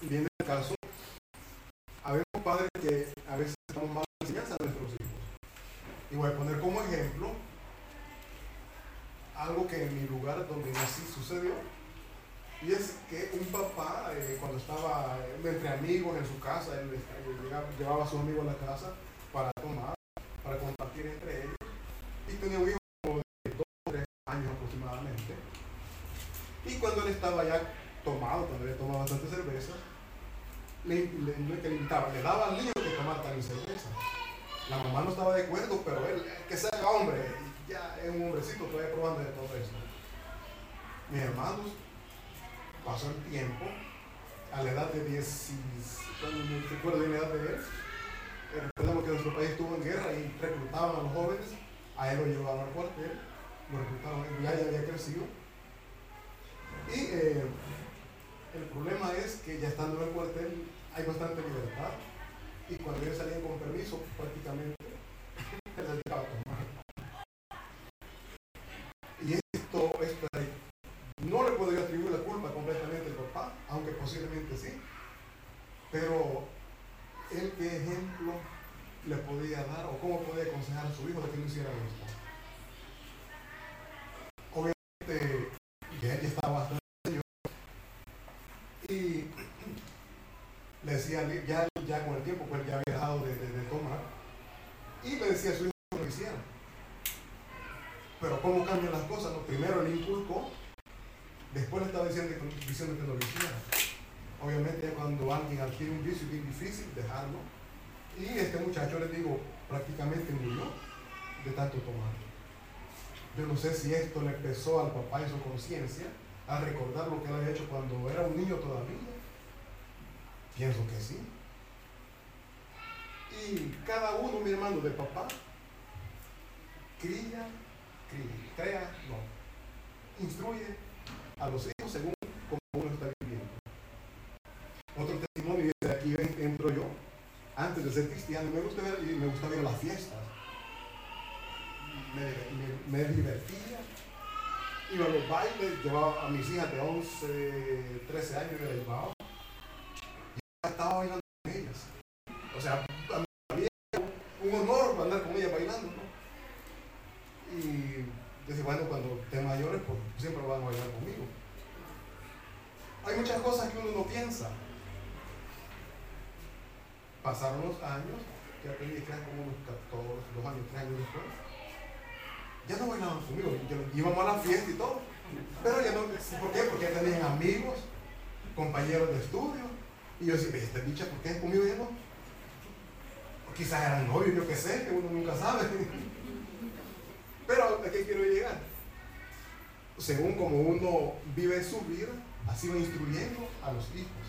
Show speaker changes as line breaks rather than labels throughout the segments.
viene el caso, habemos padres que a veces damos mala enseñanza a nuestros hijos. Y voy a poner como ejemplo algo que en mi lugar donde nací sucedió. Y es que un papá, cuando estaba entre amigos en su casa, él llevaba a sus amigos a la casa para tomar, para compartir entre ellos. Y tenía un hijo como de 2 o 3 años aproximadamente. Y cuando él estaba ya tomado, cuando él tomaba bastante cerveza, no es que le invitaba, le daba al niño que tomara también cerveza. La mamá no estaba de acuerdo, pero él, que sea hombre, ya es un hombrecito, todavía probando de todo eso. Mis hermanos, pasó el tiempo, a la edad de 10, cuando me recuerdo de la edad de él, recordamos que nuestro país estuvo en guerra y reclutaban a los jóvenes, a él lo llevaban al cuartel, lo reclutaban, ya había crecido. Y el problema es que ya estando en el cuartel hay bastante libertad, y cuando ellos salían con permiso, prácticamente se dedicaba a tomar. Y esto no le podría atribuir la culpa completamente al papá, aunque posiblemente sí, pero él qué ejemplo le podía dar o cómo podía aconsejar a su hijo de que no hiciera esto. Obviamente que él ya estaba bastante señor y le decía, ya con el tiempo pues ya había dejado de tomar, y le decía a su hijo que lo hiciera. Pero cómo cambian las cosas, ¿no? Primero le inculcó, después le estaba diciendo que no lo hiciera. Obviamente cuando alguien adquiere un vicio es bien difícil dejarlo, y este muchacho, les digo, prácticamente murió de tanto tomar. Yo no sé si esto le pesó al papá en su conciencia a recordar lo que él había hecho cuando era un niño todavía. Pienso que sí. Y cada uno, mi hermano, de papá, instruye a los hijos según como uno está viviendo. Otro testimonio, y de aquí entro yo. Antes de ser cristiano me gustaba ir a las fiestas, me divertía, iba a los bailes, llevaba a mis hijas de 11, 13 años, me las llevaba y estaba bailando con ellas. O sea, a mí había un honor andar con ellas bailando, ¿no? Y decía, bueno, cuando estén mayores, pues siempre van a bailar conmigo. Hay muchas cosas que uno no piensa. Pasaron los años, que aprendí que eran como unos 14, 2 años, 3 años después. Ya no bailaban conmigo, íbamos a la fiesta y todo. Pero ya no, ¿por qué? Porque ya tenían amigos, compañeros de estudio. Y yo decía, esta bicha, ¿por qué conmigo ya no? O quizás eran novios, yo qué sé, que uno nunca sabe. Pero ¿a qué quiero llegar? Según como uno vive su vida, así va instruyendo a los hijos.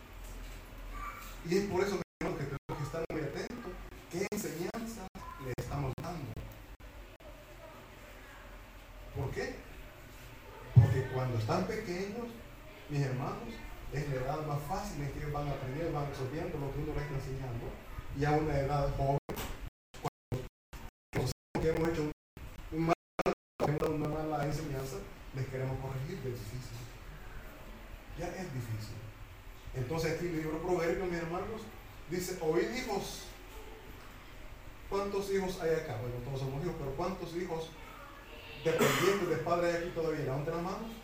Y es por eso que tenemos que estar muy atentos. ¿Qué enseñanza le estamos dando? ¿Por qué? Porque cuando están pequeños, mis hermanos, es la edad más fácil en que ellos van a aprender, van absorbiendo lo que uno les está enseñando. Y a una edad joven, cuando conocemos que hemos hecho una mala enseñanza, les queremos corregir, es difícil. Ya es difícil. Entonces aquí el libro Proverbios, mis hermanos, dice, oíd hijos. ¿Cuántos hijos hay acá? Bueno, todos somos hijos, pero ¿cuántos hijos dependientes de padres hay aquí todavía? Levanten las manos.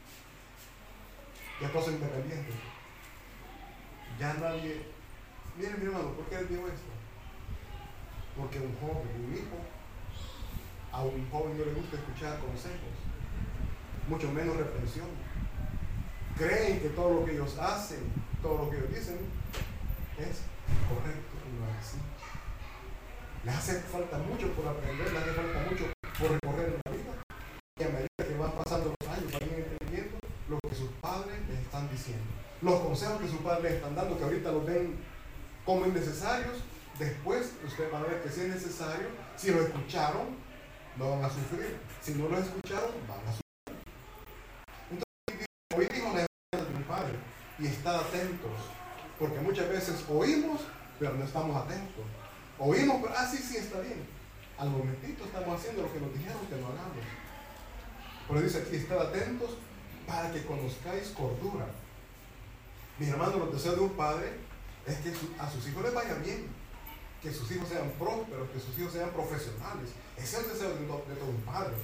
Ya todos son independientes. Ya nadie... Miren, mi hermano, ¿por qué les digo esto? Porque un joven, un hijo, a un joven no le gusta escuchar consejos, mucho menos reprensión. Creen que todo lo que ellos hacen, todo lo que ellos dicen es correcto y no es así. Les hace falta mucho por aprender, les hace falta mucho por recorrer en la vida, y a medida que van pasando los años van entendiendo lo que sus padres les están diciendo, los consejos que sus padres les están dando, que ahorita los ven como innecesarios. Después ustedes van a ver que si es necesario, si lo escucharon, no van a sufrir. Si no lo escucharon, van a sufrir. Entonces, hoy digo la enseñanza de mi padre, y estar atentos, porque muchas veces oímos, pero no estamos atentos. Oímos, pero sí, está bien. Al momentito estamos haciendo lo que nos dijeron que no hagamos. Por eso dice aquí, estar atentos para que conozcáis cordura. Mis hermanos, los deseos de un padre es que a sus hijos les vaya bien, que sus hijos sean prósperos, que sus hijos sean profesionales. Ese es el deseo de todo un padre.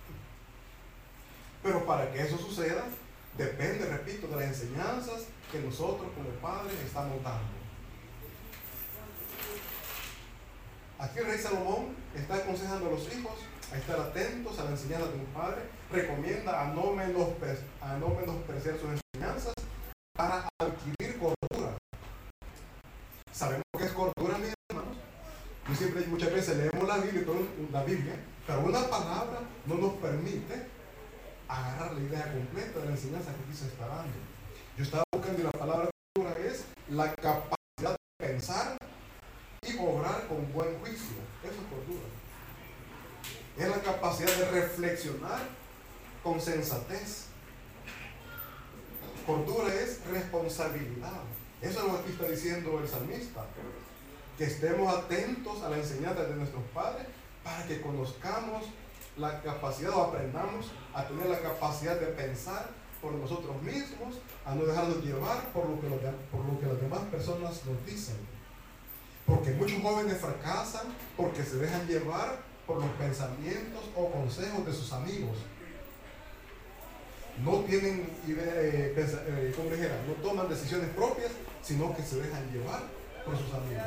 Pero para que eso suceda, depende, repito, de las enseñanzas que nosotros como padres estamos dando. Aquí el rey Salomón está aconsejando a los hijos a estar atentos a la enseñanza de un padre. Recomienda a no menospreciar sus enseñanzas para adquirir cordura. Sabemos que es cordura, mis hermanos. Muchas veces leemos la Biblia, pero una palabra no nos permite agarrar la idea completa de la enseñanza que aquí se está dando. Yo estaba buscando y la palabra cordura es la capacidad de pensar y obrar con buen juicio. Eso es cordura. Es la capacidad de reflexionar con sensatez. Cordura es responsabilidad. Eso es lo que aquí está diciendo el salmista. Que estemos atentos a la enseñanza de nuestros padres para que conozcamos la capacidad o aprendamos a tener la capacidad de pensar por nosotros mismos, a no dejarnos llevar por lo que las demás personas nos dicen. Porque muchos jóvenes fracasan porque se dejan llevar por los pensamientos o consejos de sus amigos. No tienen idea, ¿cómo dijera? No toman decisiones propias, sino que se dejan llevar por sus amigos.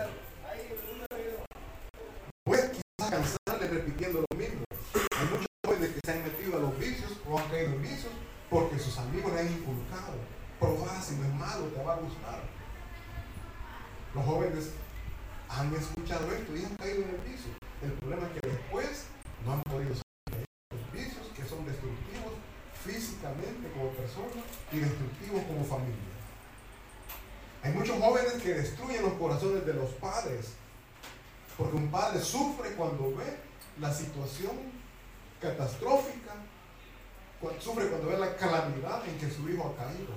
Pues quizás cansarles repitiendo lo mismo. Hay muchos jóvenes que se han metido a los vicios o han caído en vicios porque sus amigos les han inculcado. Probar si no es malo, te va a gustar. Los jóvenes han escuchado esto y han caído en el vicio. El problema es que después no han podido salir de los vicios que son destructivos físicamente como personas y destructivos como familia. Hay muchos jóvenes que destruyen los corazones de los padres, porque un padre sufre cuando ve la situación catastrófica, sufre cuando ve la calamidad en que su hijo ha caído.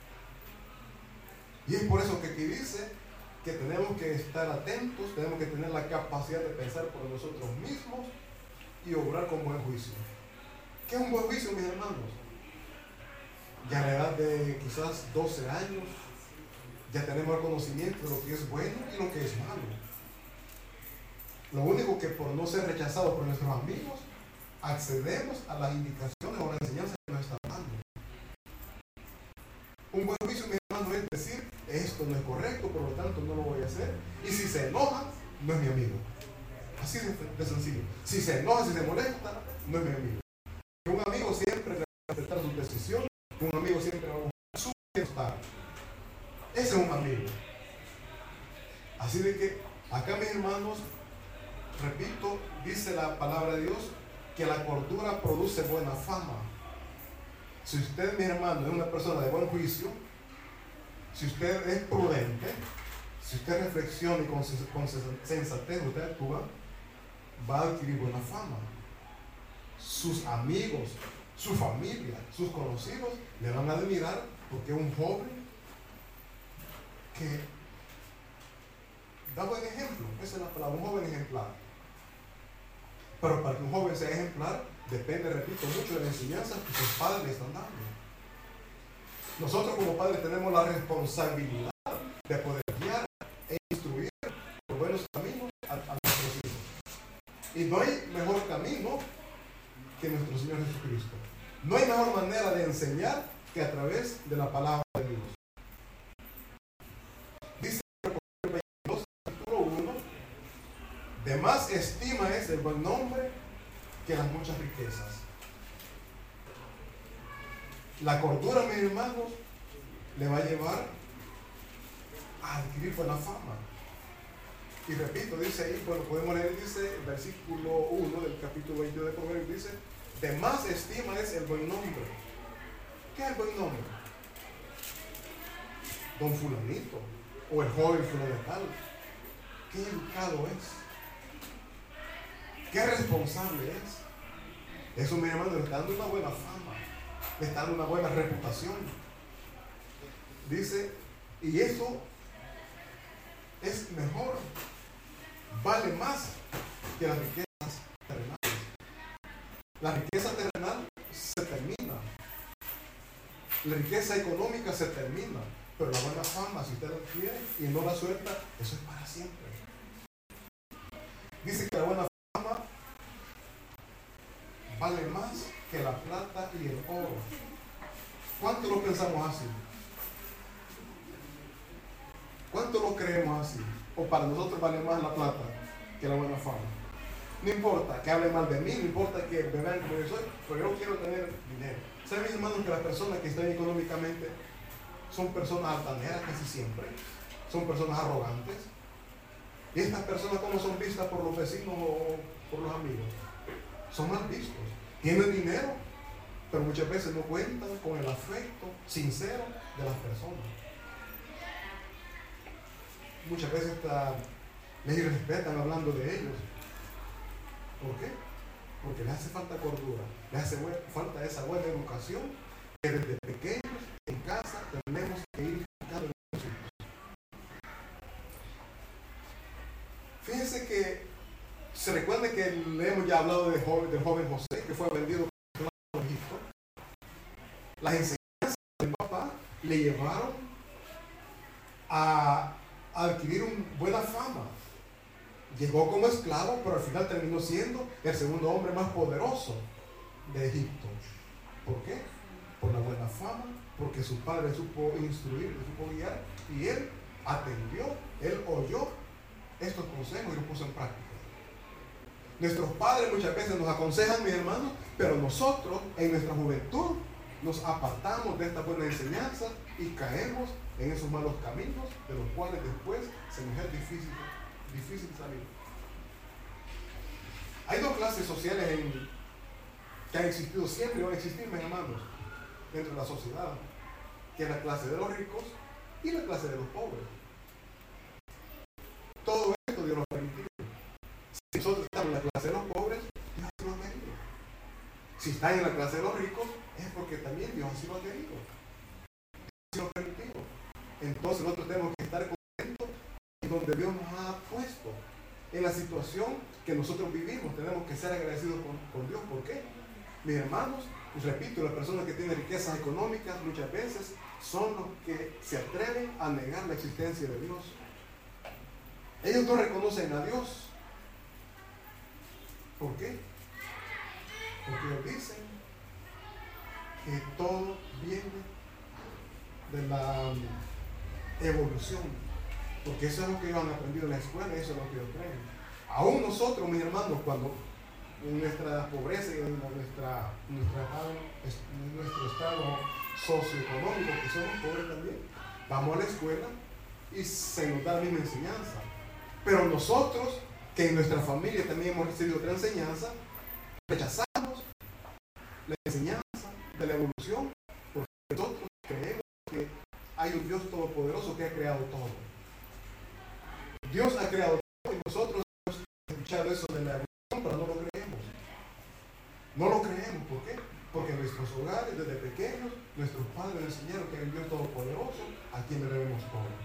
Y es por eso que aquí dice que tenemos que estar atentos, tenemos que tener la capacidad de pensar por nosotros mismos y obrar con buen juicio. ¿Qué es un buen juicio, mis hermanos? Ya a la edad de quizás 12 años, ya tenemos el conocimiento de lo que es bueno y lo que es malo. Lo único que por no ser rechazados por nuestros amigos, accedemos a las indicaciones o las enseñanzas que nos están dando. Un buen juicio, mi hermano, es decir, esto no es correcto, por lo tanto no lo voy a hacer. Y si se enoja, no es mi amigo. Así de sencillo. Si se enoja, si se molesta, no es mi amigo. Un amigo siempre va a respetar sus decisiones, un amigo siempre va a buscar su bienestar. Ese es un amigo. Así de que acá, mis hermanos, repito, dice la palabra de Dios que la cordura produce buena fama. Si usted, mi hermano, es una persona de buen juicio, si usted es prudente, si usted reflexiona y con sensatez usted actúa, va a adquirir buena fama. Sus amigos, su familia, sus conocidos le van a admirar porque es un joven que da buen ejemplo. Esa es la palabra, un joven ejemplar. Pero para que un joven sea ejemplar, depende, repito, mucho de la enseñanza que sus padres le están dando. Nosotros como padres tenemos la responsabilidad de poder guiar e instruir por buenos caminos a nuestros hijos. Y no hay mejor camino que nuestro Señor Jesucristo. No hay mejor manera de enseñar que a través de la palabra de Dios. Dice en el 22, capítulo 1, de más estima es el buen nombre que las muchas riquezas. La cordura, mis hermanos, le va a llevar a adquirir buena fama. Y repito, dice ahí, bueno, podemos leer, dice el versículo 1 del capítulo 22 de Proverbios, dice, de más estima es el buen nombre. ¿Qué es el buen nombre? Don fulanito, o el joven fulano de tal. ¿Qué educado es? ¿Qué responsable es? Eso, mi hermano, le está dando una buena fama, le está dando una buena reputación. Dice, y eso es mejor, vale más que las riquezas terrenales. La riqueza terrenal se termina, la riqueza económica se termina, Pero la buena fama, si usted la quiere y no la suelta, eso es para siempre. Dice que la buena fama vale más que la plata y el oro. ¿Cuánto lo pensamos así? ¿Cuánto lo creemos así? O para nosotros vale más la plata que la buena fama. No importa que hable mal de mí, no importa que me vean como yo soy, pero yo quiero tener dinero. ¿Saben, mis hermanos, que las personas que están económicamente son personas altaneras casi siempre? Son personas arrogantes. ¿Y estas personas cómo son vistas por los vecinos o por los amigos? Son mal vistos. Tienen dinero, pero muchas veces no cuentan con el afecto sincero de las personas. Muchas veces les irrespetan hablando de ellos. ¿Por qué? Porque les hace falta cordura, les hace falta esa buena educación que desde pequeños en casa tenemos que ir educando en los hijos. Fíjense que se recuerda que le hemos ya hablado del joven José, que fue vendido por Egipto. Las enseñanzas del papá le llevaron a adquirir una buena fama. Llegó como esclavo, pero al final terminó siendo el segundo hombre más poderoso de Egipto. ¿Por qué? Por la buena fama, porque su padre supo instruir, le supo guiar, y él atendió, él oyó estos consejos y los puso en práctica. Nuestros padres muchas veces nos aconsejan, mis hermanos, pero nosotros en nuestra juventud nos apartamos de esta buena enseñanza y caemos en esos malos caminos de los cuales después se nos es difícil salir. Hay dos clases sociales que han existido siempre y van a existir, mis hermanos, dentro de la sociedad, que es la clase de los ricos y la clase de los pobres. Todo esto Dios lo ha permitido. Si nosotros estamos en la clase de los pobres, Dios así lo ha querido. Si están en la clase de los ricos, es porque también Dios así lo ha querido. Dios así lo ha permitido. Entonces nosotros tenemos que estar contentos en donde Dios nos ha puesto. En la situación que nosotros vivimos, tenemos que ser agradecidos con Dios. ¿Por qué? Mis hermanos, y repito, las personas que tienen riquezas económicas muchas veces son los que se atreven a negar la existencia de Dios. Ellos no reconocen a Dios. ¿Por qué? Porque ellos dicen que todo viene de la evolución, porque eso es lo que ellos han aprendido en la escuela, eso es lo que ellos creen. Aún nosotros, mis hermanos, cuando en nuestra pobreza y en nuestro estado socioeconómico, que somos pobres también, vamos a la escuela y se nos da la misma enseñanza. Pero nosotros, que en nuestra familia también hemos recibido otra enseñanza, rechazamos la enseñanza de la evolución, porque nosotros creemos que hay un Dios todopoderoso que ha creado todo. Dios ha creado todo y nosotros hemos escuchado eso de la evolución, pero no lo creemos. No lo creemos, ¿por qué? Porque en nuestros hogares, desde pequeños, nuestros padres nos enseñaron que hay un Dios todopoderoso a quien le debemos todo.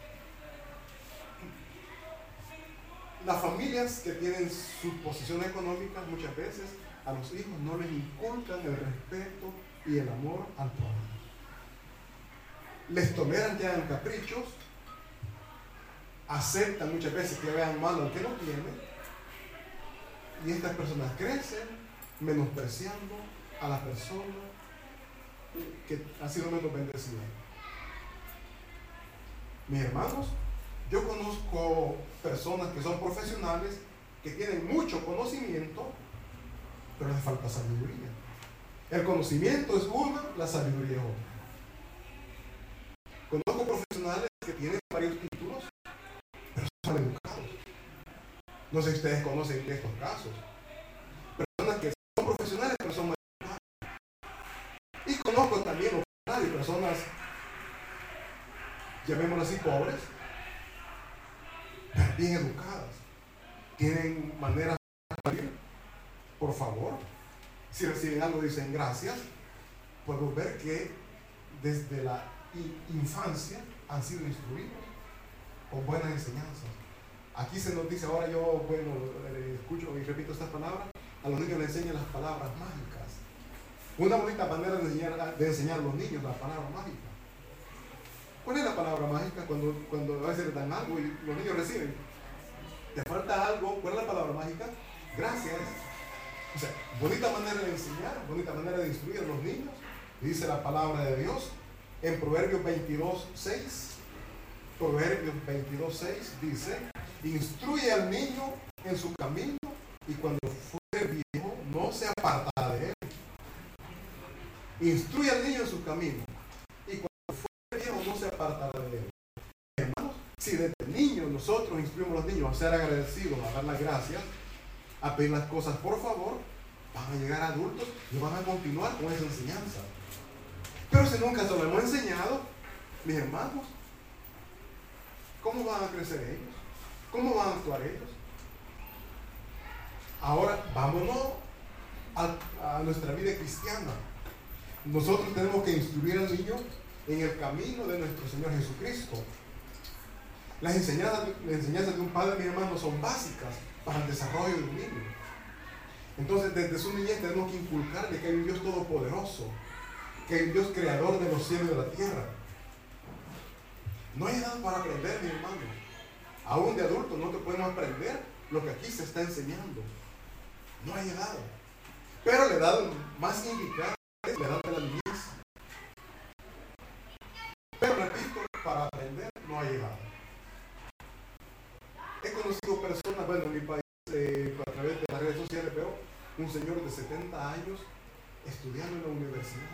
Las familias que tienen su posición económica muchas veces a los hijos no les inculcan el respeto y el amor al prójimo. Les toleran que hagan caprichos, aceptan muchas veces que vean mal al que no tiene, y estas personas crecen menospreciando a la persona que ha sido menos bendecida. Mis hermanos, yo conozco personas que son profesionales, que tienen mucho conocimiento, pero les falta sabiduría. El conocimiento es una, la sabiduría es otra. Conozco profesionales que tienen varios títulos, pero son educados. No sé si ustedes conocen de estos casos. Personas que son profesionales, pero son mal educadas. Y conozco también lo contrario, personas, llamémoslas así, pobres, bien educadas, tienen maneras de vivir. Por favor, si reciben algo dicen gracias. Podemos ver que desde la infancia han sido instruidos con buenas enseñanzas. Aquí se nos dice, ahora yo, escucho y repito estas palabras, a los niños les enseñan las palabras mágicas. Una bonita manera de enseñar a los niños la palabra mágica. ¿Cuál es la palabra mágica cuando a veces le dan algo y los niños reciben? ¿Te falta algo? ¿Cuál es la palabra mágica? Gracias. O sea, bonita manera de enseñar, bonita manera de instruir a los niños. Dice la palabra de Dios en Proverbios 22:6. Proverbios 22:6 dice: instruye al niño en su camino y cuando fuere viejo no se apartará de él. Instruye al niño en su camino y cuando fuere viejo no se apartará de él. Hermanos, si desde niños nosotros instruimos a los niños a ser agradecidos, a dar las gracias, a pedir las cosas por favor, van a llegar adultos y van a continuar con esa enseñanza. Pero si nunca se lo hemos enseñado, mis hermanos, ¿cómo van a crecer ellos? ¿Cómo van a actuar ellos? Ahora, vámonos a nuestra vida cristiana. Nosotros tenemos que instruir al niño en el camino de nuestro Señor Jesucristo. Las enseñanzas de un padre, mis hermanos, son básicas para el desarrollo de un niño. Entonces, desde su niñez tenemos que inculcarle que hay un Dios todopoderoso, que hay un Dios creador de los cielos y de la tierra. No hay edad para aprender, mi hermano. Aún de adultos no te podemos aprender lo que aquí se está enseñando. No hay edad. Pero la edad más indicada es la edad de la niñez. Pero repito, para aprender no hay edad. He conocido personas, bueno, en mi país, a través de las redes sociales veo un señor de 70 años estudiando en la universidad.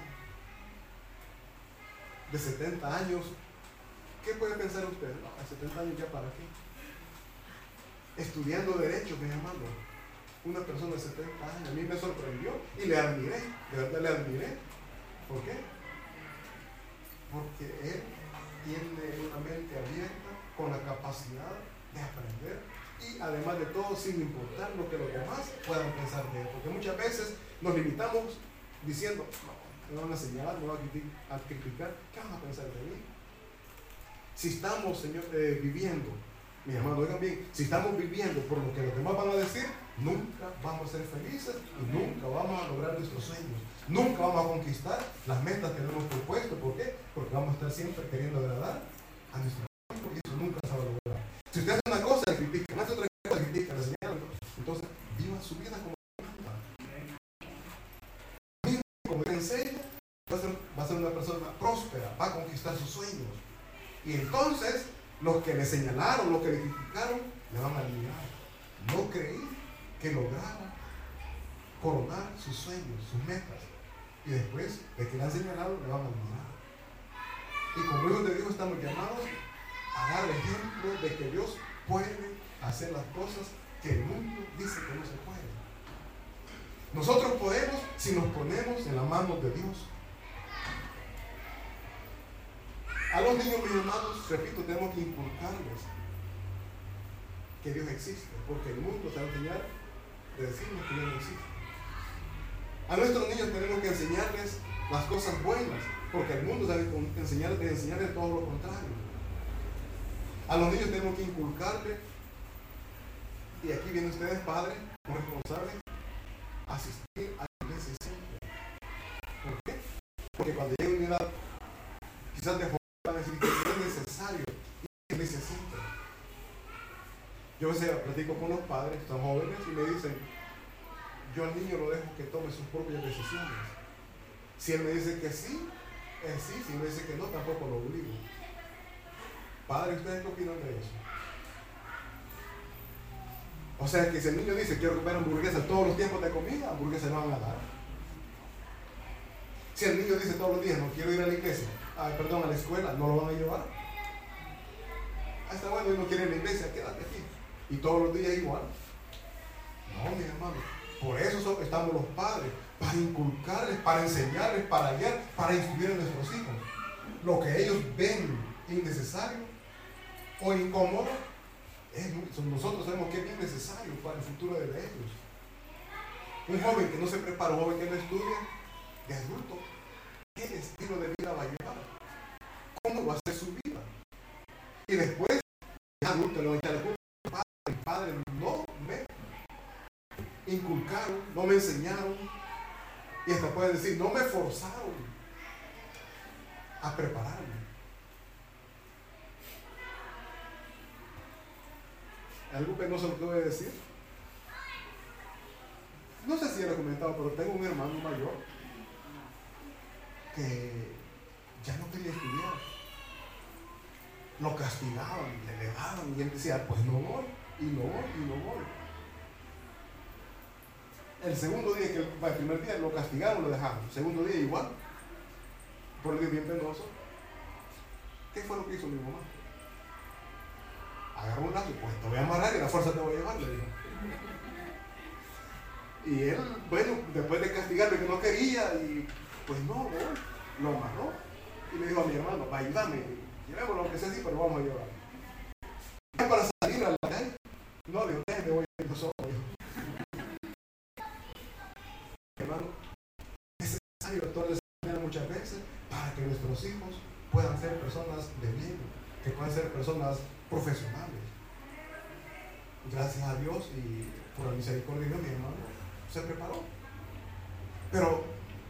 De 70 años. ¿Qué puede pensar usted? No, a 70 años ya para qué. Estudiando Derecho, mi hermano. Una persona de 70 años. A mí me sorprendió y le admiré. De verdad le admiré. ¿Por qué? Porque él tiene una mente abierta con la capacidad de aprender y además de todo sin importar lo que los demás puedan pensar de él. Porque muchas veces nos limitamos diciendo, no, me van a señalar, me van a criticar. ¿Qué van a pensar de mí? Si estamos, Señor, viviendo, mi hermano, oigan bien, si estamos viviendo por lo que los demás van a decir, nunca vamos a ser felices y nunca vamos a lograr nuestros sueños. Nunca vamos a conquistar las metas que nos hemos propuesto. ¿Por qué? Porque vamos a estar siempre queriendo agradar a nuestro cuerpo y eso nunca se va a lograr. Si usted hace una cosa, le critica, hace otra cosa, le critica, le señala, entonces viva su vida como manda. Como él enseña, va a ser una persona próspera, va a conquistar sus sueños. Y entonces, los que le señalaron, los que le criticaron, le van a admirar. No creí que lograra coronar sus sueños, sus metas. Y después de que le han señalado, le van a admirar. Y como hijos de Dios estamos llamados a dar ejemplo de que Dios puede hacer las cosas que el mundo dice que no se puede. Nosotros podemos si nos ponemos en las manos de Dios. A los niños, mis hermanos, repito, tenemos que inculcarles que Dios existe, porque el mundo se va a enseñar de decirnos que Dios no existe. A nuestros niños tenemos que enseñarles las cosas buenas, porque el mundo se va a enseñarles todo lo contrario. A los niños tenemos que inculcarles, y aquí vienen ustedes, padres, como responsables, asistir a la iglesia siempre. ¿Por qué? Porque cuando llegue una edad, quizás de joven, van a decir que es necesario ir a la iglesia siempre. Yo a veces platico con los padres, son jóvenes, y me dicen, yo al niño lo dejo que tome sus propias decisiones. Si él me dice que sí, es sí. Si me dice que no, tampoco lo obligo. Padre, ¿ustedes qué opinan de eso? O sea que si el niño dice, quiero comer hamburguesa todos los tiempos de comida, hamburguesa no van a dar. Si el niño dice todos los días, no quiero ir a la iglesia, a la escuela, no lo van a llevar. Está bueno, y no quiere ir a la iglesia, quédate aquí. Y todos los días igual. No, mi hermano. Por eso estamos los padres, para inculcarles, para enseñarles, para guiar, para instruir a nuestros hijos. Lo que ellos ven innecesario o incómodo, nosotros sabemos que es bien necesario para el futuro de ellos. Un joven que no se prepara, un joven que no estudia, de adulto, ¿qué estilo de vida va a llevar? ¿Cómo va a ser su vida? Y después, de adulto, le va a echar la culpa. El padre no me inculcaron, no me enseñaron, y hasta puede decir, no me forzaron a prepararme. algo penoso lo que voy a decir. No sé si ya lo he comentado, pero tengo un hermano mayor que ya no quería estudiar. Lo castigaban, le daban y él decía, pues no voy, y no voy, y no voy. El segundo día, el primer día lo castigaron, lo dejaron. El segundo día igual, por el día bien penoso. ¿Qué fue lo que hizo mi mamá? Agarró un lazo, pues te voy a amarrar y la fuerza te voy a llevar, le dijo. Y él, bueno, después de castigarle que no quería, y pues no, voy, lo amarró. Y le dijo a mi hermano, va, ayúdame, llevémoslo aunque sea así, pero vamos a llevar. Para salir a la calle, no, le dijo, me voy a ir solo. Hermano, es necesario actuar muchas veces para que nuestros hijos puedan ser personas de bien, que puedan ser personas profesionales. Gracias a Dios y por la misericordia de Dios, mi hermano se preparó. Pero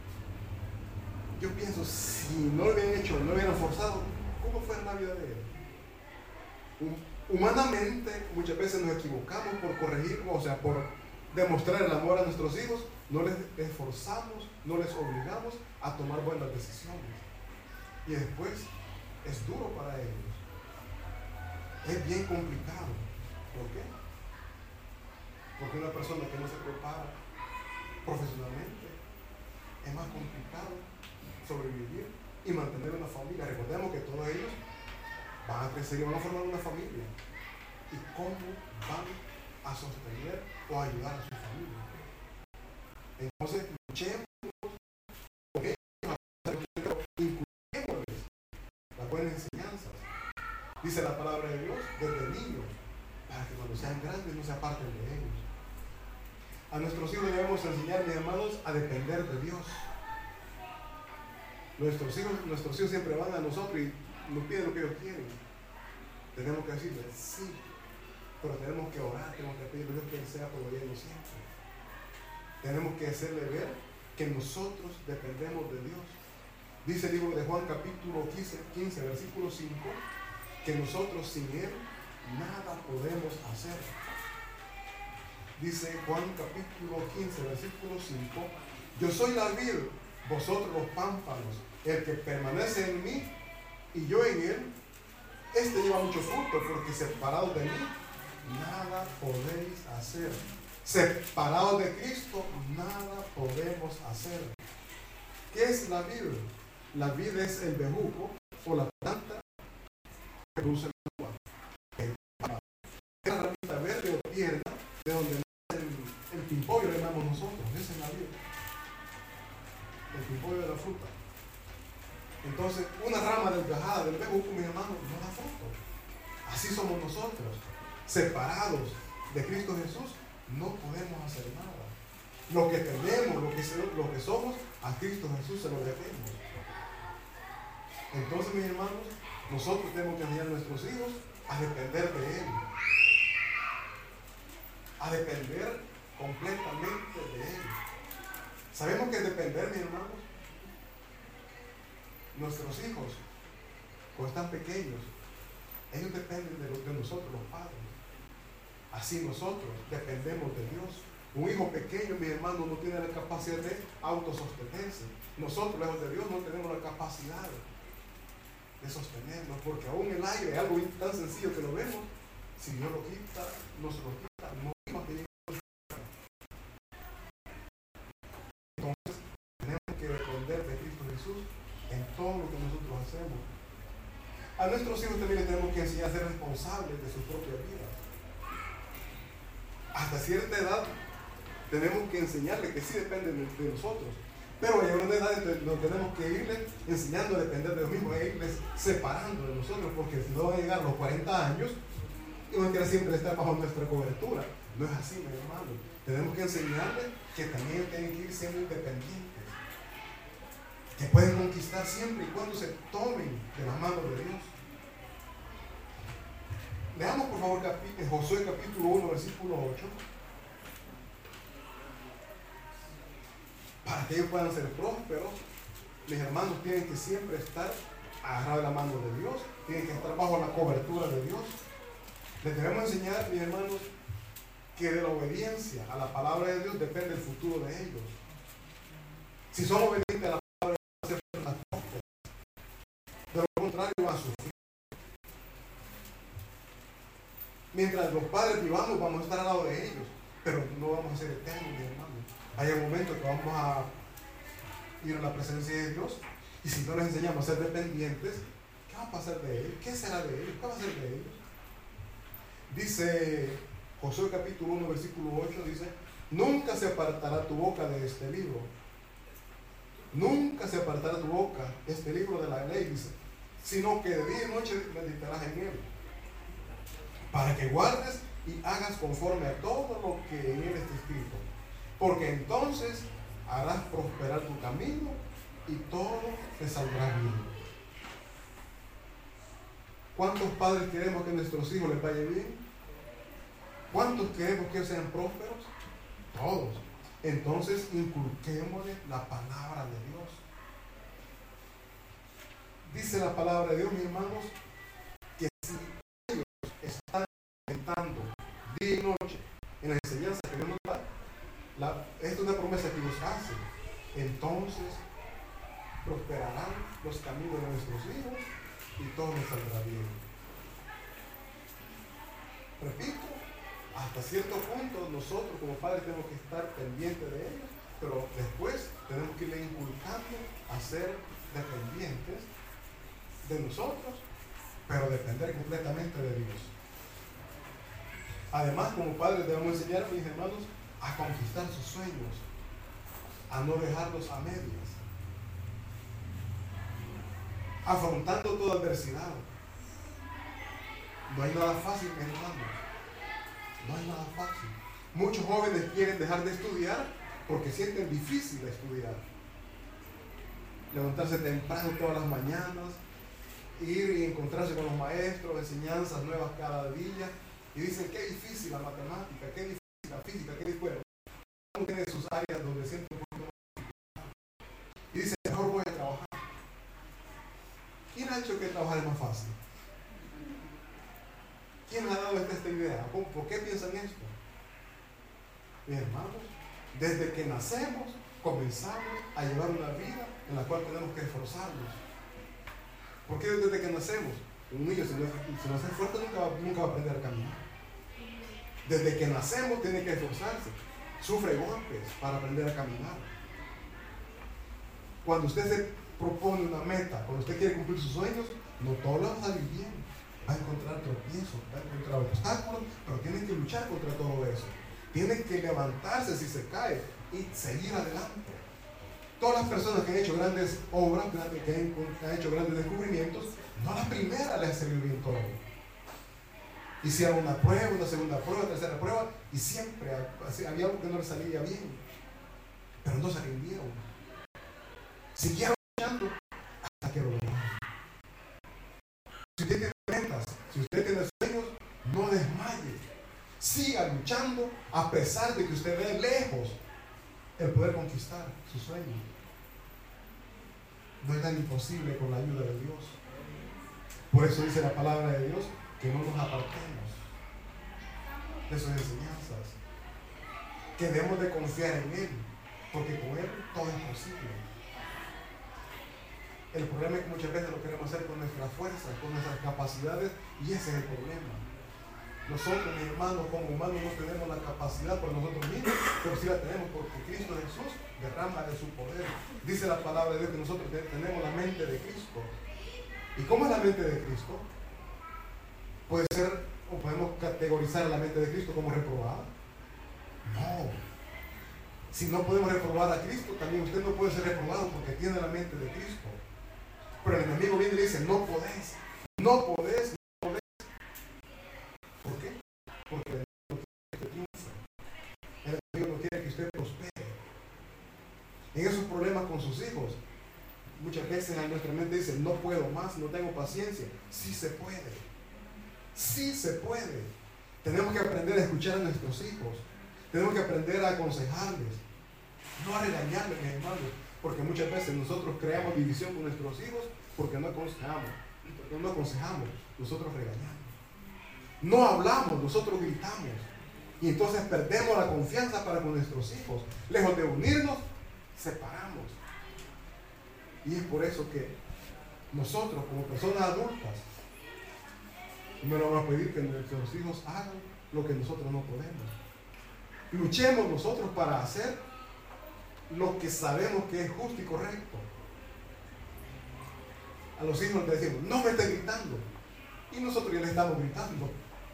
yo pienso, si no lo hubieran hecho, no lo hubieran forzado, ¿cómo fue la vida de él? Humanamente, muchas veces nos equivocamos por corregir, o sea, por demostrar el amor a nuestros hijos. No les esforzamos, no les obligamos a tomar buenas decisiones. Y después es duro para ellos. Es bien complicado. ¿Por qué? Porque una persona que no se prepara profesionalmente es más complicado sobrevivir y mantener una familia. Recordemos que todos ellos van a crecer y van a formar una familia. ¿Y cómo van a sostener o ayudar a su familia? Entonces, luchemos con ellos, incluyéndoles las buenas enseñanzas. Dice la palabra de Dios desde niños, para que cuando sean grandes no se aparten de ellos. A nuestros hijos debemos enseñar, mis hermanos, a depender de Dios. Nuestros hijos siempre van a nosotros y nos piden lo que ellos quieren. Tenemos que decirles sí, pero tenemos que orar, tenemos que pedirle a Dios que Él sea proveyendo siempre. Tenemos que hacerle ver que nosotros dependemos de Dios. Dice el libro de Juan capítulo 15 versículo 5, que nosotros sin Él nada podemos hacer. Dice Juan capítulo 15 versículo 5, yo soy la vid, vosotros los pámpanos, el que permanece en mí y yo en él, este lleva mucho fruto, porque separados de mí nada podéis hacer. Separados de Cristo nada podemos hacer. ¿Qué es la vid? La vid es el bejuco o la planta que produce el agua. Es la ramita verde o tierna de donde nace el pimpollo, le llamamos nosotros. Esa es la vid. El pimpollo de la fruta. Entonces, una rama desgajada del bejuco, mi hermano, no da fruto. Así somos nosotros, separados de Cristo Jesús. No podemos hacer nada. Lo que tenemos, lo que somos, a Cristo Jesús se lo debemos. Entonces, mis hermanos, nosotros tenemos que enseñar a nuestros hijos a depender de Él. A depender completamente de Él. Sabemos que depender, mis hermanos, nuestros hijos, cuando están pequeños, ellos dependen de nosotros, los padres. Así nosotros dependemos de Dios. Un hijo pequeño, mi hermano, no tiene la capacidad de autosostenerse. Nosotros, lejos de Dios, no tenemos la capacidad de sostenernos, porque aún el aire es algo tan sencillo que lo vemos. Si Dios lo quita, no se lo quita, no vamos a tener. Entonces, tenemos que depender de Cristo Jesús en todo lo que nosotros hacemos. A nuestros hijos también les tenemos que enseñar a ser responsables de su propia vida. Hasta cierta edad tenemos que enseñarles que sí dependen de nosotros, pero a una edad nos tenemos que irles enseñando a depender de los mismos, e irles separando de nosotros, porque si no van a llegar a los 40 años y van a querer siempre estar bajo nuestra cobertura. No es así, mi hermano. Tenemos que enseñarles que también tienen que ir siendo independientes, que pueden conquistar siempre y cuando se tomen de la mano de Dios. Leamos por favor Josué capítulo 1 versículo 8, para que ellos puedan ser prósperos. Mis hermanos tienen que siempre estar agarrados de la mano de Dios, tienen que estar bajo la cobertura de Dios. Les debemos enseñar, mis hermanos, que de la obediencia a la palabra de Dios depende el futuro de ellos. Si son obedientes a la palabra de Dios, van a ser prósperos. De lo contrario, van a sufrir. Mientras los padres vivamos, vamos a estar al lado de ellos, pero no vamos a ser eternos, mis hermanos. Hay un momento que vamos a ir a la presencia de Dios, y si no les enseñamos a ser dependientes, ¿qué va a pasar de ellos? ¿Qué será de ellos? ¿Qué va a ser de ellos? Dice Josué capítulo 1, versículo 8, dice: nunca se apartará tu boca de este libro. Nunca se apartará tu boca este libro de la ley, dice, sino que de día y noche meditarás en él, para que guardes y hagas conforme a todo lo que en él está escrito, porque entonces harás prosperar tu camino y todo te saldrá bien. ¿Cuántos padres queremos que a nuestros hijos les vaya bien? ¿Cuántos queremos que ellos sean prósperos? Todos. Entonces inculquémosle la palabra de Dios. Dice la palabra de Dios, mis hermanos, que si ellos están intentando día y noche en la enseñanza que Dios nos da, esta es una promesa que Dios hace, entonces prosperarán los caminos de nuestros hijos y todo nos saldrá bien. Repito, hasta cierto punto nosotros como padres tenemos que estar pendientes de ellos, pero después tenemos que irle inculcando a ser dependientes de nosotros, pero depender completamente de Dios. Además, como padres debemos enseñar a mis hermanos a conquistar sus sueños, a no dejarlos a medias, afrontando toda adversidad. No hay nada fácil, mis hermanos. No hay nada fácil. Muchos jóvenes quieren dejar de estudiar porque sienten difícil estudiar. Levantarse temprano todas las mañanas, ir y encontrarse con los maestros, enseñanzas nuevas cada día, y dicen qué difícil la matemática, qué difícil la física, qué difícil. Bueno, uno tiene sus áreas donde siente un poquito más. Y dice, mejor voy a trabajar. ¿Quién ha hecho que trabajar es más fácil? ¿Quién ha dado esta idea? ¿Por qué piensan esto? Mis hermanos, desde que nacemos comenzamos a llevar una vida en la cual tenemos que esforzarnos. ¿Por qué desde que nacemos? Un niño si no se esfuerza nunca va a aprender a caminar. Desde que nacemos tiene que esforzarse. Sufre golpes para aprender a caminar. Cuando usted se propone una meta, cuando usted quiere cumplir sus sueños, no todo le va a salir bien. Va a encontrar tropiezos, va a encontrar obstáculos, pero tienen que luchar contra todo eso. Tienen que levantarse si se cae y seguir adelante. Todas las personas que han hecho grandes obras, que han hecho grandes descubrimientos, no a la primera les ha salido bien todo. Hicieron una prueba, una segunda prueba, tercera prueba, y siempre había algo que no les salía bien. Pero no se rindieron. Siguieron luchando hasta que lo lograron. Si usted tiene metas, si usted tiene sueños, no desmaye. Siga luchando a pesar de que usted ve lejos el poder conquistar su sueño. No es tan imposible con la ayuda de Dios. Por eso dice la palabra de Dios que no nos apartemos de sus enseñanzas, que debemos de confiar en Él, porque con Él todo es posible. El problema es que muchas veces lo queremos hacer con nuestras fuerzas, con nuestras capacidades, y ese es el problema. Nosotros, mis hermanos, como humanos no tenemos la capacidad por nosotros mismos, pero sí la tenemos porque Cristo Jesús derrama de su poder. Dice la palabra de Dios que nosotros tenemos la mente de Cristo. ¿Y cómo es la mente de Cristo? Puede ser, o podemos categorizar la mente de Cristo como reprobada. No. Si no podemos reprobar a Cristo, también usted no puede ser reprobado porque tiene la mente de Cristo. Pero el enemigo viene y le dice, no podés, no podés, no podés. ¿Por qué? Porque el enemigo no quiere que usted triunfe. El enemigo no quiere que usted prospere. En esos problemas con sus hijos, muchas veces en nuestra mente dice, no puedo más, no tengo paciencia. Sí se puede. Sí se puede. Tenemos que aprender a escuchar a nuestros hijos. Tenemos que aprender a aconsejarles, no a regañarles, mis hermanos, porque muchas veces nosotros creamos división con nuestros hijos porque no aconsejamos, nosotros regañamos. No hablamos, nosotros gritamos. Y entonces perdemos la confianza para con nuestros hijos. Lejos de unirnos, separamos. Y es por eso que nosotros, como personas adultas, no le vamos a pedir que nuestros hijos hagan lo que nosotros no podemos. Luchemos nosotros para hacer lo que sabemos que es justo y correcto. A los hijos les decimos, no me estés gritando. Y nosotros ya le estamos gritando.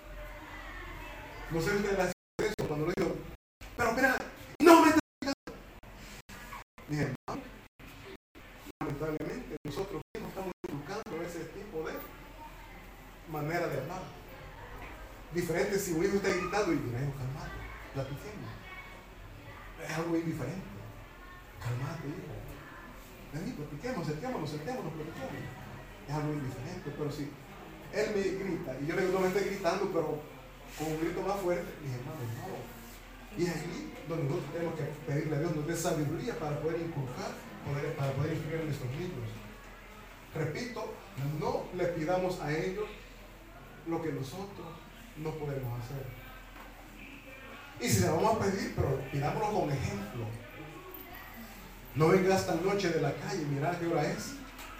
No sé si ustedes la hacen eso cuando le digo, pero mira, no me estés gritando. Mis hermanos, lamentablemente nosotros mismos estamos inculcando ese tipo de manera de hablar. Diferente si un hijo está gritando y mira, hijo, calmate, platiquemos. Es algo indiferente. Calmate, hijo. Vení, platiquemos, sentémonos, platiquemos. Es algo indiferente, pero si él me grita y yo le digo, no me esté gritando, pero con un grito más fuerte, mis hermanos, no. Y es aquí donde nosotros tenemos que pedirle a Dios nos dé sabiduría para poder inculcar, para poder instruir a nuestros niños. Repito, no le pidamos a ellos lo que nosotros no podemos hacer. Y si le vamos a pedir, pero pidámoslo con ejemplo. No venga esta noche de la calle, mira a qué hora es.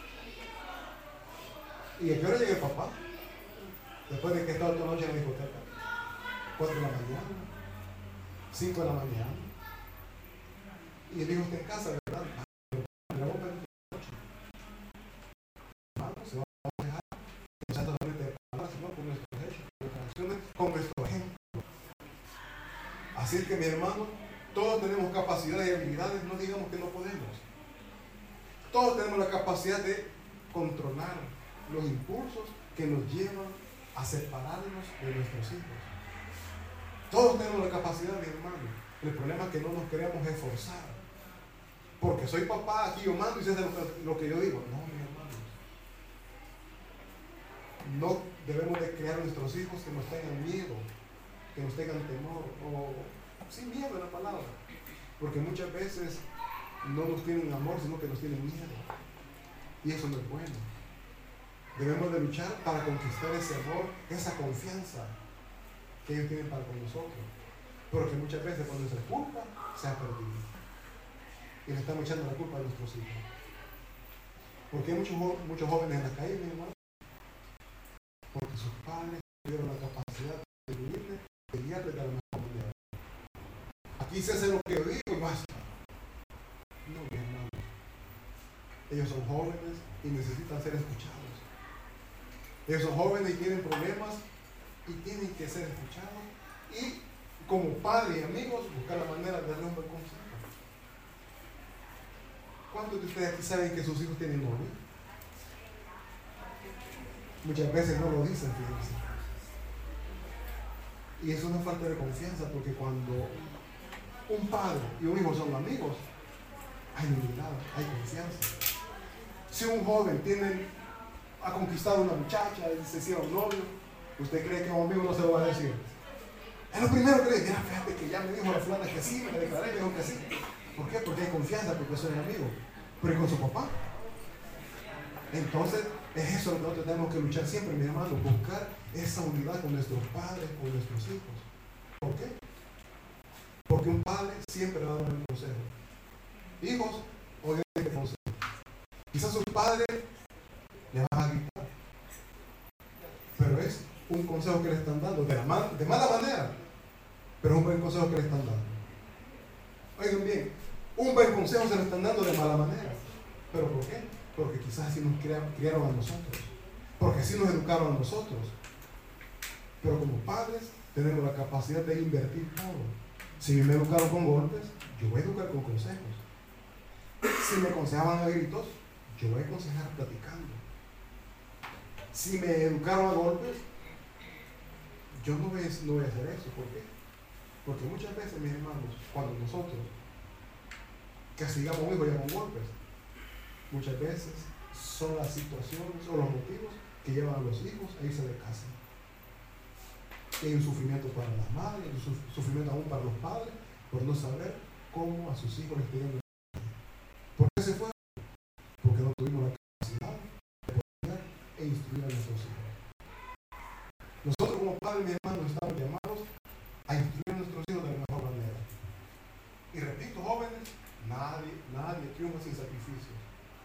¿Y a qué hora llega el papá? Después de que estaba toda la noche en la discoteca. 4 de la mañana, 5 de la mañana. Y el hijo está en casa, ¿verdad? Le vamos a pedir esta noche. Se va a dejar. No solamente de palabras, sino con nuestros hechos, con nuestras acciones, con nuestro ejemplo. Así es que, mi hermano, todos tenemos capacidades y habilidades, no digamos que no podemos. Todos tenemos la capacidad de controlar los impulsos que nos llevan a separarnos de nuestros hijos. Todos tenemos la capacidad, mi hermano. El problema es que no nos queremos esforzar. Porque soy papá, aquí yo mando y se hace lo que yo digo. No, mi hermano. No debemos de crear a nuestros hijos que nos tengan miedo, que nos tengan temor, o sin miedo en la palabra. Porque muchas veces no nos tienen amor, sino que nos tienen miedo. Y eso no es bueno. Debemos de luchar para conquistar ese amor, esa confianza que ellos tienen para con nosotros. Porque muchas veces por nuestra culpa se ha perdido. Y le estamos echando la culpa a nuestros hijos. ¿Por qué hay muchos jóvenes en la calle, mi hermano? Porque sus padres tuvieron la capacidad de vivirles, de guiarles de la mejor manera. Aquí se hace lo que yo digo y basta. No, mi hermano. Ellos son jóvenes y necesitan ser escuchados. Ellos son jóvenes y tienen problemas y tienen que ser escuchados. Y como padres y amigos, buscar la manera de darle un buen consejo. ¿Cuántos de ustedes aquí saben que sus hijos tienen novio? Muchas veces no lo dicen, fíjense. Y eso es una falta de confianza, porque cuando un padre y un hijo son amigos, hay unidad, hay confianza. Si un joven ha conquistado una muchacha y se hicieron novio, ¿usted cree que a un amigo no se lo va a decir? Es lo primero que le dice, mira, fíjate que ya me dijo la fulana que sí, me declaré, me dijo que sí. ¿Por qué? Porque hay confianza, porque son amigos. Pero ¿y con su papá? Entonces, es eso lo que nosotros tenemos que luchar siempre, mi hermano, buscar esa unidad con nuestros padres, con nuestros hijos. ¿Por qué? Porque un padre siempre le va a dar un consejo. Hijos, oigan este consejo. Quizás sus padres le van a gritar, pero es un consejo que le están dando de mala manera, pero es un buen consejo que le están dando. Oigan bien, un buen consejo se lo están dando de mala manera. ¿Pero por qué? Porque quizás así nos criaron a nosotros, porque así nos educaron a nosotros. Pero como padres tenemos la capacidad de invertir todo. Si me educaron con golpes, yo voy a educar con consejos. Si me aconsejaban a gritos, yo voy a aconsejar platicando. Si me educaron a golpes, yo no voy a hacer eso. ¿Por qué? Porque muchas veces, mis hermanos, cuando nosotros castigamos a un hijo ya con golpes, muchas veces son las situaciones o los motivos que llevan a los hijos a irse de casa. Hay un sufrimiento para las madres, un sufrimiento aún para los padres, por no saber cómo a sus hijos les tienen. ¿Por qué se fue? Porque no tuvimos la capacidad de poder e instruir a nuestros hijos. Nosotros como padres, mis hermanos, estamos llamados a instruir a nuestros hijos de la mejor manera. Y repito, jóvenes, nadie triunfa sin sacrificios.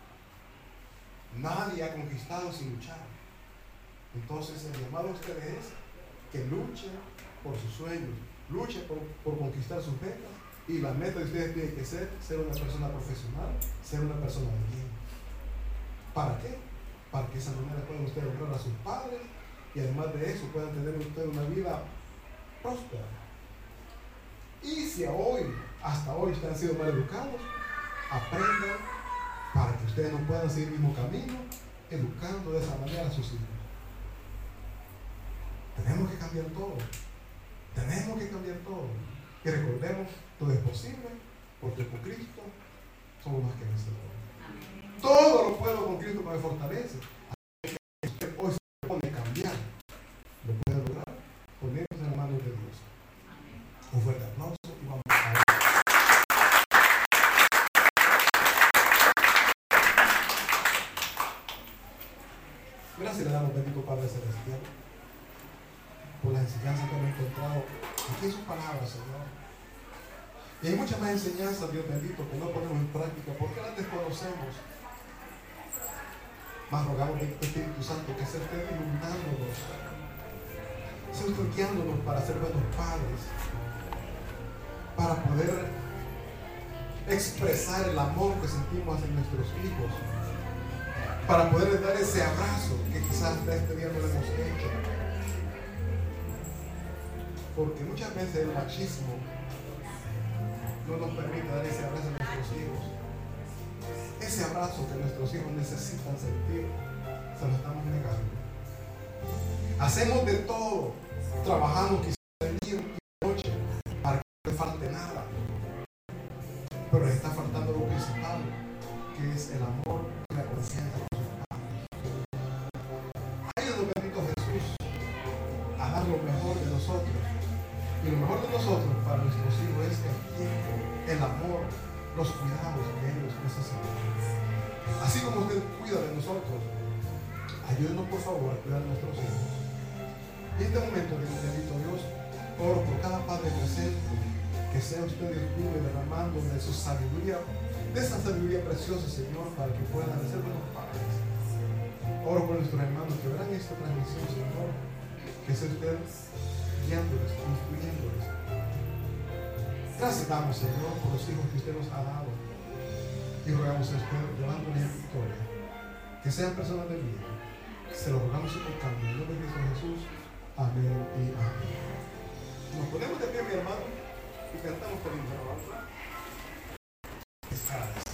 Nadie ha conquistado sin luchar. Entonces el llamado a ustedes es que luchen por sus sueños, luchen por conquistar sus metas, y la meta de ustedes tiene que ser una persona profesional, ser una persona de bien. ¿Para qué? Para que de esa manera puedan ustedes honrar a sus padres y además de eso puedan tener ustedes una vida próspera. Y si hasta hoy ustedes han sido mal educados, aprendan para que ustedes no puedan seguir el mismo camino, educando de esa manera a sus hijos. Tenemos que cambiar todo. Tenemos que cambiar todo. Y recordemos, todo es posible, porque con Cristo somos más que vencedores. Todo lo puedo con Cristo que me fortalece. Así que usted hoy se propone cambiar. Lo puede lograr poniéndose en las manos de Dios. Un fuerte aplauso y vamos a ver. Gracias le damos, bendito Padre Celestial, por las enseñanzas que hemos encontrado aquí en sus palabras, Señor. Y hay muchas más enseñanzas, Dios bendito, que no ponemos en práctica porque las desconocemos. Mas rogamos, bendito Espíritu Santo, que sea usted iluminándonos, sea usted guiándonos para ser buenos padres, para poder expresar el amor que sentimos hacia nuestros hijos, para poder dar ese abrazo que quizás hasta este día no lo hemos hecho. Porque muchas veces el machismo no nos permite dar ese abrazo a nuestros hijos. Ese abrazo que nuestros hijos necesitan sentir, se lo estamos negando. Hacemos de todo, trabajamos quizás de día y de noche para que no le falte nada. Pero les está faltando lo principal, que es el amor y la confianza con sus padres. Ayúdanos, bendito Jesús, a dar lo mejor de nosotros. Y lo mejor de nosotros para nuestros hijos es el tiempo, el amor, los cuidados que ellos necesitan. Así como usted cuida de nosotros, ayúdenos por favor a cuidar de nuestros hijos. Y en este momento, bendito Dios, oro por cada padre presente, que sea usted Dios mío derramando de su sabiduría, de esa sabiduría preciosa, Señor, para que puedan ser buenos padres. Oro por nuestros hermanos que verán esta transmisión, Señor, que sea usted guiándoles, instruyéndoles. Gracias damos, Señor, por los hijos que usted nos ha dado. Y rogamos a usted, llevándoles en victoria, que sean personas de bien. Se lo rogamos y tocando en el nombre de Cristo Jesús. Amén y amén. Nos ponemos de pie, mi hermano, y cantamos por el